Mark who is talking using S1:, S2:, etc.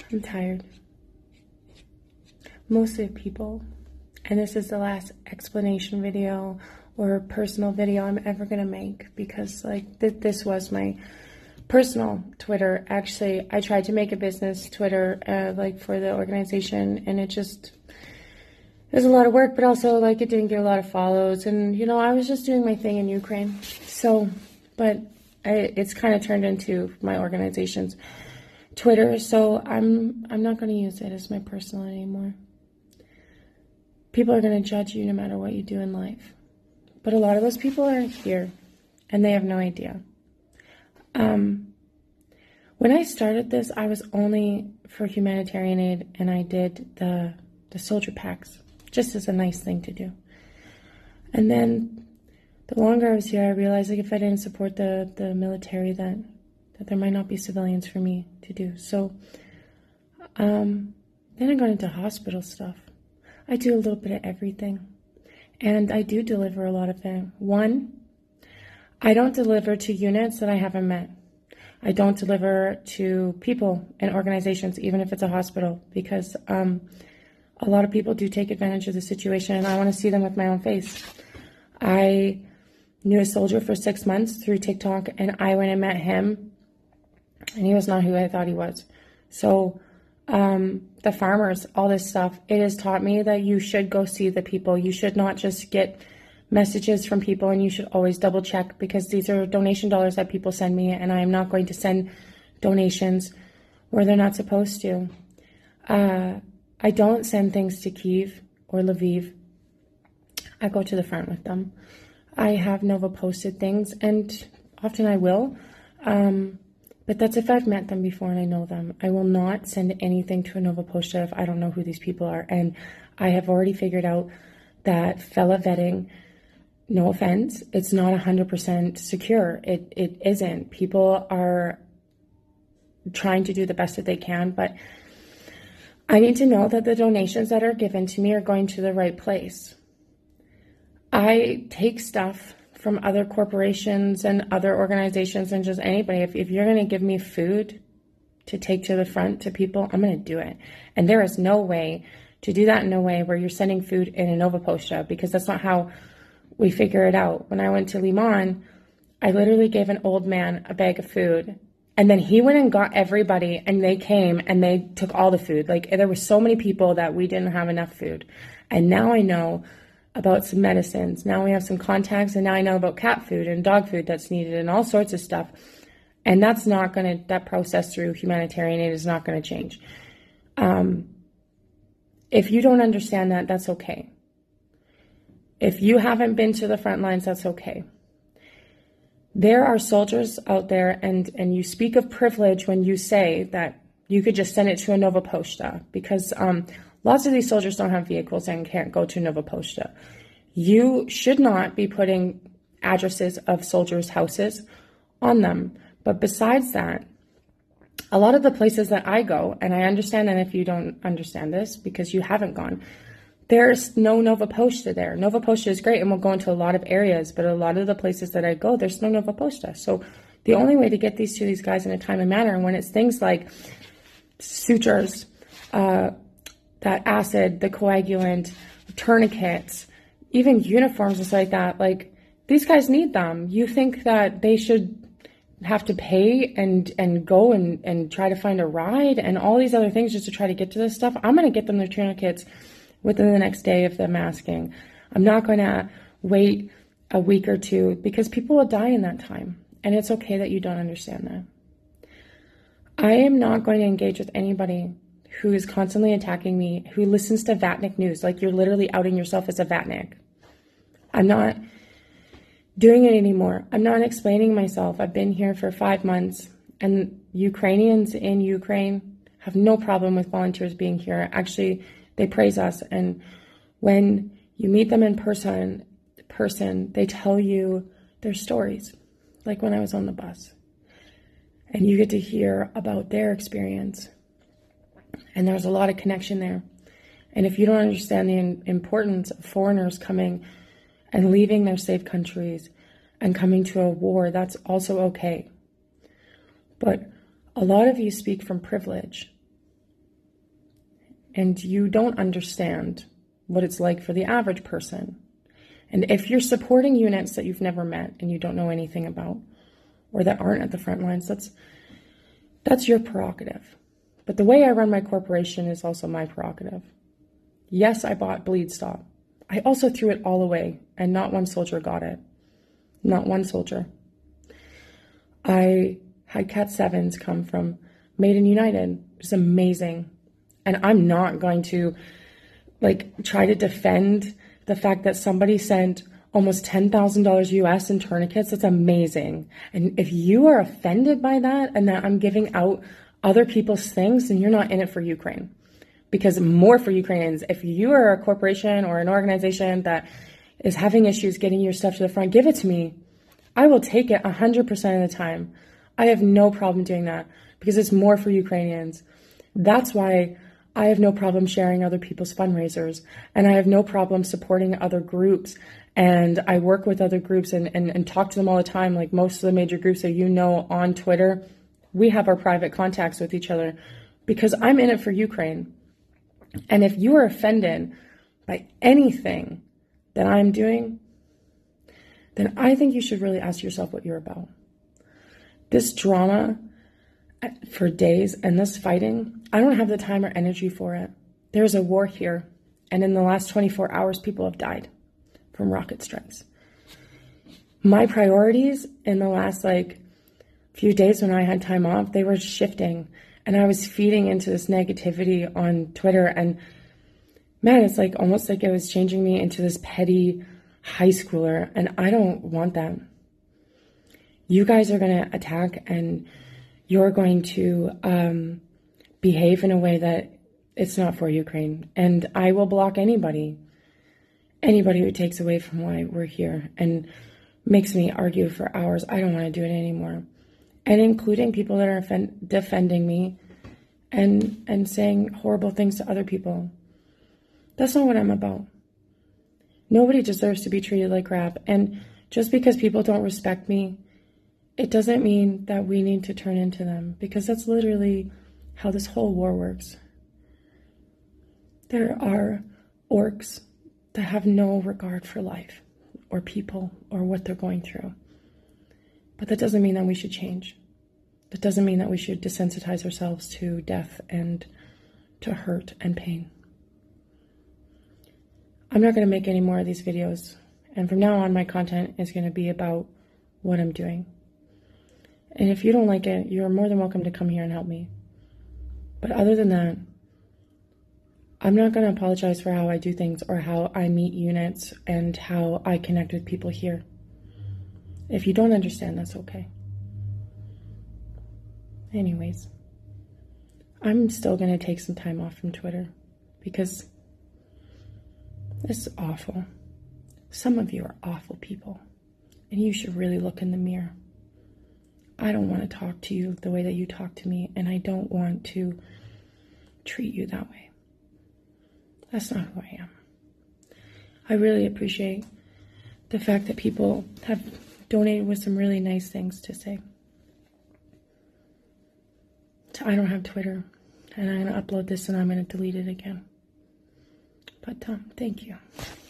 S1: I'm tired. Mostly of people. And this is the last explanation video or personal video I'm ever going to make, because like this was my personal Twitter. Actually, I tried to make a business Twitter like for the organization, and it was a lot of work, but also like it didn't get a lot of follows, and you know, I was just doing my thing in Ukraine. So, but it's kind of turned into my organization's Twitter, so I'm not going to use it as my personal anymore. People are going to judge you no matter what you do in life. But a lot of those people are here, and they have no idea. When I started this, I was only for humanitarian aid, and I did the soldier packs, just as a nice thing to do. And then the longer I was here, I realized like if I didn't support the military, that there might not be civilians for me to do. So then I got into hospital stuff. I do a little bit of everything. And I do deliver a lot of things. One, I don't deliver to units that I haven't met. I don't deliver to people and organizations, even if it's a hospital, because a lot of people do take advantage of the situation, and I want to see them with my own face. I knew a soldier for 6 months through TikTok, and I went and met him, and he was not who I thought he was. So the farmers, all this stuff, it has taught me that you should go see the people. You should not just get messages from people, and you should always double check, because these are donation dollars that people send me, and I am not going to send donations where they're not supposed to. I don't send things to Kyiv or Lviv. I go to the front with them. I have Nova posted things, and often I will, but that's if I've met them before and I know them. I will not send anything to a Nova Posta if I don't know who these people are, and I have already figured out that fella vetting, no offense, it's not 100% secure. It isn't. People are trying to do the best that they can, but I need to know that the donations that are given to me are going to the right place. I take stuff from other corporations and other organizations and just anybody. If you're going to give me food to take to the front to people, I'm going to do it. And there is no way to do that in a way where you're sending food in a Nova Posta, because that's not how we figure it out. When I went to Liman, I literally gave an old man a bag of food, and then he went and got everybody, and they came and they took all the food. Like, there were so many people that we didn't have enough food. And now I know about some medicines. Now we have some contacts, and now I know about cat food and dog food that's needed and all sorts of stuff. And that process through humanitarian aid is not going to change. If you don't understand that, that's okay. If you haven't been to the front lines, that's okay. There are soldiers out there, and you speak of privilege when you say that you could just send it to a Nova Posta, because lots of these soldiers don't have vehicles and can't go to Nova Posta. You should not be putting addresses of soldiers' houses on them. But besides that, a lot of the places that I go, and I understand that if you don't understand this because you haven't gone, there's no Nova Posta there. Nova Posta is great, and we'll go into a lot of areas, but a lot of the places that I go, there's no Nova Posta. So the only way to get these to these guys in a timely manner, and when it's things like sutures, that acid, the coagulant, tourniquets, even uniforms and stuff like that, like, these guys need them. You think that they should have to pay and go and try to find a ride and all these other things just to try to get to this stuff? I'm going to get them their tourniquets within the next day of them asking. I'm not going to wait a week or two, because people will die in that time. And it's okay that you don't understand that. I am not going to engage with anybody who is constantly attacking me, who listens to Vatnik news. Like, you're literally outing yourself as a Vatnik. I'm not doing it anymore. I'm not explaining myself. I've been here for 5 months, and Ukrainians in Ukraine have no problem with volunteers being here. Actually, they praise us. And when you meet them in person, they tell you their stories. Like when I was on the bus, and you get to hear about their experience. And there's a lot of connection there. And if you don't understand the importance of foreigners coming and leaving their safe countries and coming to a war, that's also okay. But a lot of you speak from privilege. and you don't understand what it's like for the average person. And if you're supporting units that you've never met and you don't know anything about, or that aren't at the front lines, that's your prerogative. But the way I run my corporation is also my prerogative. Yes, I bought Bleed Stop. I also threw it all away, and not one soldier got it. Not one soldier. I had Cat 7s come from Made in United. It's amazing. And I'm not going to try to defend the fact that somebody sent almost $10,000 US in tourniquets. That's amazing. And if you are offended by that and that I'm giving out other people's things, then you're not in it for Ukraine. Because more for Ukrainians, if you are a corporation or an organization that is having issues getting your stuff to the front, give it to me. I will take it 100% of the time. I have no problem doing that because it's more for Ukrainians. That's why I have no problem sharing other people's fundraisers, and I have no problem supporting other groups. And I work with other groups and talk to them all the time. Like most of the major groups that you know on Twitter, we have our private contacts with each other because I'm in it for Ukraine. And if you are offended by anything that I'm doing, then I think you should really ask yourself what you're about. This drama for days and this fighting, I don't have the time or energy for it. There's a war here, and in the last 24 hours, people have died from rocket strikes. My priorities in the last few days when I had time off, they were shifting, and I was feeding into this negativity on Twitter, and man, it's almost like it was changing me into this petty high schooler, and I don't want that. You guys are going to attack, and you're going to behave in a way that it's not for Ukraine. And I will block anybody who takes away from why we're here and makes me argue for hours. I don't want to do it anymore. And including people that are defending me and saying horrible things to other people. That's not what I'm about. Nobody deserves to be treated like crap. And just because people don't respect me, it doesn't mean that we need to turn into them, because that's literally how this whole war works. There are orcs that have no regard for life or people or what they're going through. But that doesn't mean that we should change. That doesn't mean that we should desensitize ourselves to death and to hurt and pain. I'm not going to make any more of these videos. And from now on, my content is going to be about what I'm doing. And if you don't like it, you're more than welcome to come here and help me. But other than that, I'm not going to apologize for how I do things or how I meet units and how I connect with people here. If you don't understand, that's okay. Anyways, I'm still going to take some time off from Twitter because it's awful. Some of you are awful people, and you should really look in the mirror. I don't want to talk to you the way that you talk to me, and I don't want to treat you that way. That's not who I am. I really appreciate the fact that people have donated with some really nice things to say. I don't have Twitter, and I'm going to upload this and I'm going to delete it again. But thank you.